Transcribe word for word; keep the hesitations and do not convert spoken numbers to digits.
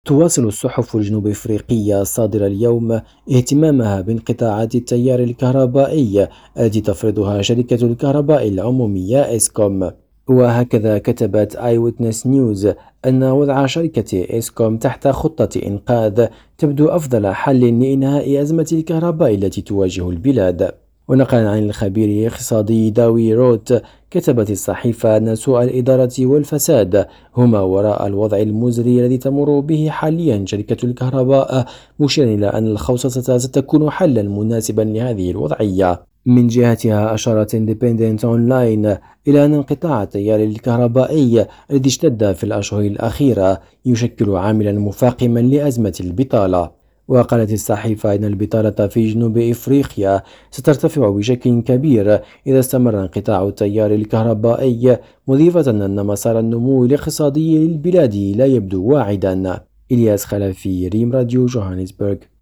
تواصل الصحف الجنوب أفريقية الصادرة اليوم اهتمامها بانقطاعات التيار الكهربائي التي تفرضها شركة الكهرباء العمومية إسكوم. وهكذا كتبت آي ويتنس نيوز أن وضع شركة إسكوم تحت خطة إنقاذ تبدو أفضل حل لإنهاء أزمة الكهرباء التي تواجه البلاد. ونقلا عن الخبير الاقتصادي داوي روت، كتبت الصحيفة أن سوء الإدارة والفساد هما وراء الوضع المزري الذي تمر به حاليا شركة الكهرباء، مشيرا إلى أن الخوصصة ستكون حلا مناسبا لهذه الوضعية. من جهتها أشارت Independent أونلاين إلى أن انقطاع التيار الكهربائي الذي اشتد في الأشهر الأخيرة يشكل عاملا مفاقما لأزمة البطالة. وقالت الصحيفة إن البطالة في جنوب إفريقيا سترتفع بشكل كبير إذا استمر انقطاع التيار الكهربائي، مضيفة أن مسار النمو الاقتصادي للبلاد لا يبدو واعدا. إلياس خلفي، ريم راديو، جوهانسبرغ.